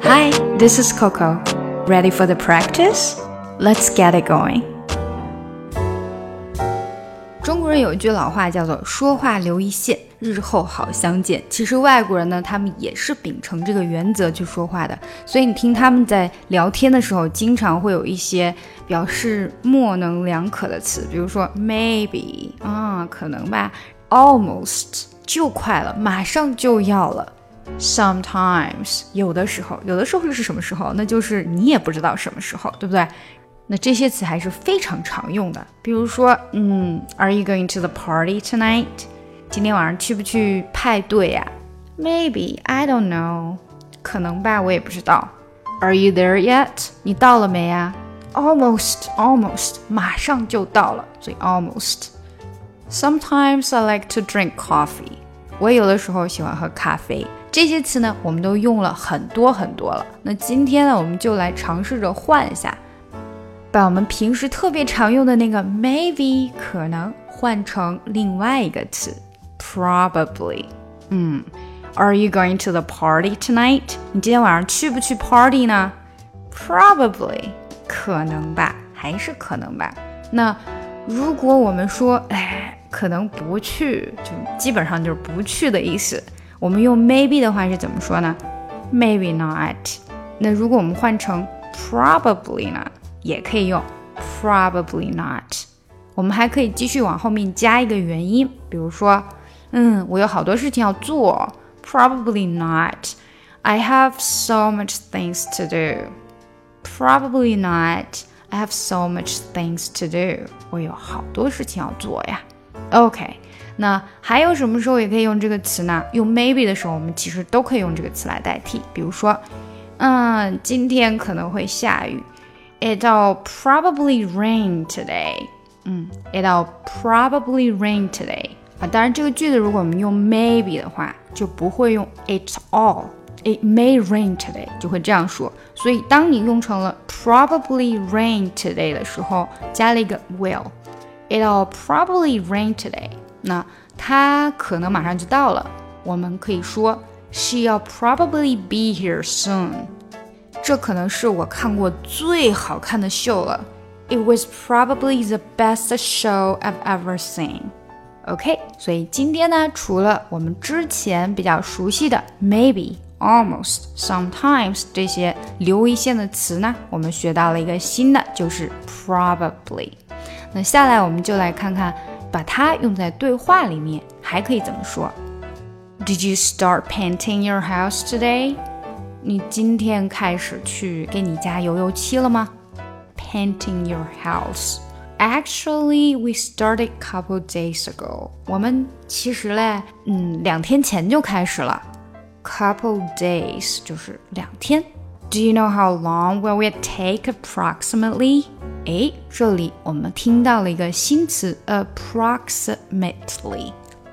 Hi, this is Coco. Ready for the practice? Let's get it going. 中国人有一句老话叫做说话留一线，日后好相见。其实外国人呢，他们也是秉承这个原则去说话的，所以你听他们在聊天的时候，经常会有一些表示模棱两可的词，比如说 maybe 可能吧， almost 就快了，马上就要了。Sometimes 有的时候是什么时候？那就是你也不知道什么时候，对不对？那这些词还是非常常用的，比如说Are you going to the party tonight? 今天晚上去不去派对呀？Maybe, I don't know. 可能吧，我也不知道。Are you there yet? 你到了没呀？Almost, 马上就到了，所以 almost. Sometimes I like to drink coffee. 我有的时候喜欢喝咖啡。这些词呢，我们都用了很多了。那今天呢，我们就来尝试着换一下，把我们平时特别常用的那个 maybe 可能换成另外一个词 probably。Are you going to the party tonight? 你今天晚上去不去 party 呢？ Probably 可能吧，还是可能吧。那如果我们说可能不去，就基本上就是不去的意思。我们用 maybe 的话是怎么说呢？ Maybe not。 那如果我们换成 probably 呢，也可以用 probably not。 我们还可以继续往后面加一个原因，比如说我有好多事情要做， probably not. I have so much things to do. Probably not. I have so much things to do. 我有好多事情要做呀。 OK， 那还有什么时候也可以用这个词呢？用 maybe 的时候，我们其实都可以用这个词来代替。比如说今天可能会下雨， It'll probably rain today. It'll probably rain today. 当然这个句子如果我们用 maybe 的话，就不会用 it all. It may rain today 就会这样说。所以当你用成了 probably rain today 的时候，加了一个 will. It'll probably rain today. 那它可能马上就到了，我们可以说 She'll probably be here soon. 这可能是我看过最好看的秀了。It was probably the best show I've ever seen. OK， 所以今天呢，除了我们之前比较熟悉的 maybe, almost, sometimes 这些留一线的词呢，我们学到了一个新的，就是 probably。那下来我们就来看看，把它用在对话里面还可以怎么说。Did you start painting your house today? 你今天开始去给你家油油漆了吗？ Painting your house. Actually, we started a couple days ago. 我们其实嘞，2天前就开始了。Couple days 就是2天。Do you know how long will it take approximately? 这里我们听到了一个新词 approximately.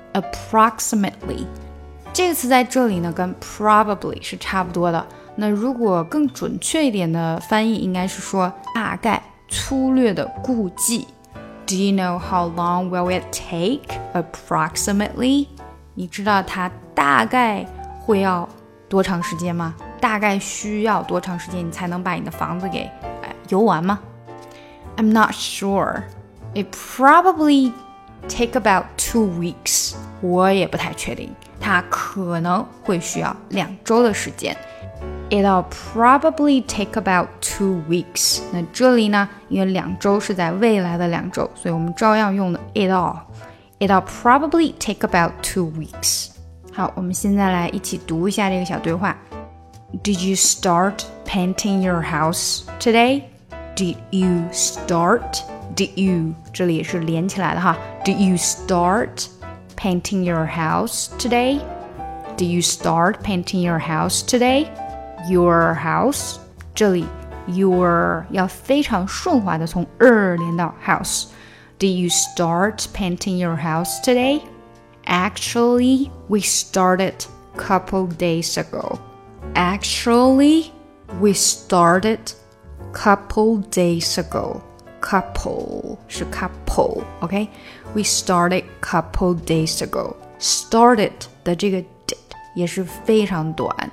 这个词在这里呢，跟 probably 是差不多的。那如果更准确一点的翻译，应该是说大概、粗略的估计。Do you know how long will it take approximately? 你知道它大概会要多长时间吗？大概需要多长时间你才能把你的房子给油完吗？ I'm not sure. It probably take about 2 weeks. 我也不太确定，它可能会需要2周的时间。It'll probably take about 2 weeks. 那这里呢，因为2周是在未来的2周，所以我们照样用的 it'll probably take about 2 weeks. 好，我们现在来一起读一下这个小对话。Did you start painting your house today? Did you start? Did you 这里也是连起来的哈。Did you start painting your house today? Did you start painting your house today? Your house 这里 your 要非常顺滑的从连到 house. Did you start painting your house today? Actually, we started a couple days ago. Actually, we started a couple days ago. Couple 是 couple, OK? We started a couple days ago. Started 的这个 did 也是非常短。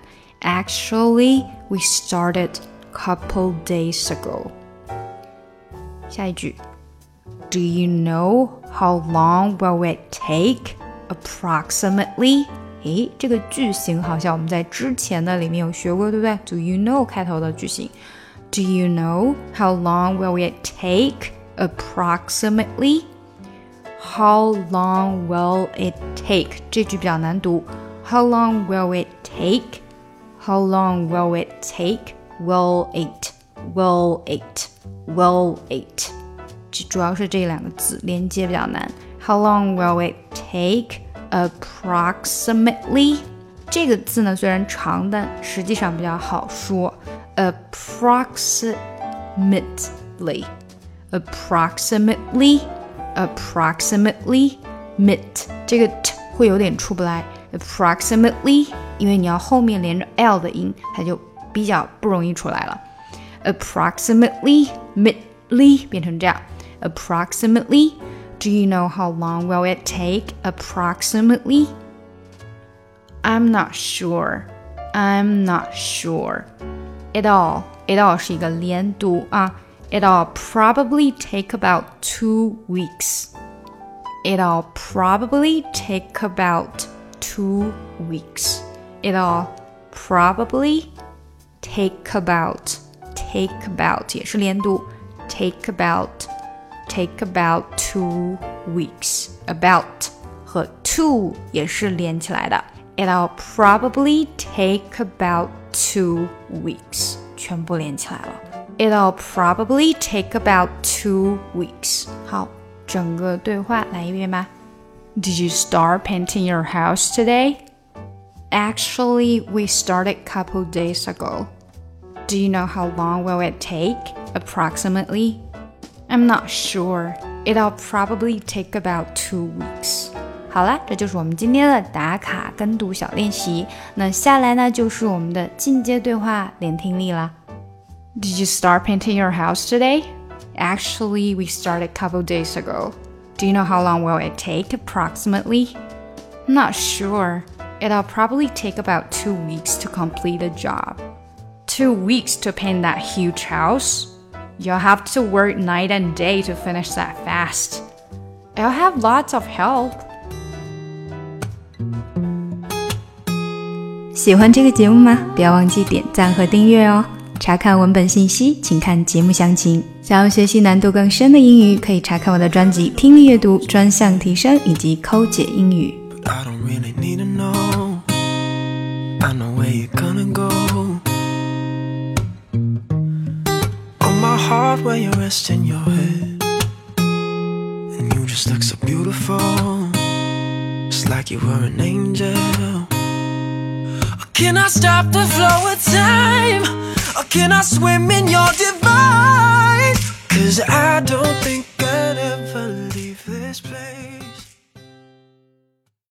Actually, we started couple days ago. 下一句 Do you know how long will it take? Approximately. 诶，这个句型好像我们在之前的里面有学过，对不对？ Do you know 开头的句型 Do you know how long will it take? Approximately. How long will it take? 这句比较难读 How long will it take? How long will it take? Will it, will it, will it 主要是这两个字连接比较难 How long will it take? Approximately 这个字呢虽然长但实际上比较好说 Approximately Approximately Approximately Mit 这个 t 会有点出不来 Approximately 因为你要后面连着 l 的音它就比较不容易出来了 Approximately Mitly 变成这样 Approximately Do you know how long will it take? Approximately I'm not sure I'm not sure It all 是一个连读啊 It'll probably take about 2 weeks It'll probably take about 2 weeks It'll probably take about 也是连读 take about 2 weeks About 和 to 也是连起来的 It'll probably take about 2 weeks 全部连起来了 It'll probably take about 2 weeks 好，整个对话来一遍吧 Did you start painting your house today? Actually, we started a couple days ago. Do you know how long will it take? Approximately? I'm not sure. It'll probably take about 2 weeks. 好啦，这就是我们今天的打卡跟读小练习。那下来呢，就是我们的进阶对话连听力啦。Did you start painting your house today? Actually, we started a couple days ago. Do you know how long will it take approximately? I'm not sure. It'll probably take about 2 weeks to complete the job. 2 weeks to paint that huge house? You'll have to work night and day to finish that fast. I'll have lots of help. 喜欢这个节目吗？不要忘记点赞和订阅哦。查看文本信息，请看节目详情。想要学习难度更深的英语，可以查看我的专辑《听力阅读专项提升》以及《抠解英语》。 I don't really need to know. I know where you're gonna go. On my heart where you're resting your head, and you just look so beautiful, just like you were an angel. Can I stop the flow of time? Or can I swim in your divine? 'Cause I don't think